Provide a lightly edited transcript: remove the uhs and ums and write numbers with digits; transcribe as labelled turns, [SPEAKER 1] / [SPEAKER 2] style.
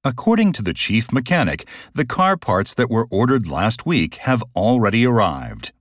[SPEAKER 1] According to the chief mechanic, the car parts that were ordered last week have already arrived.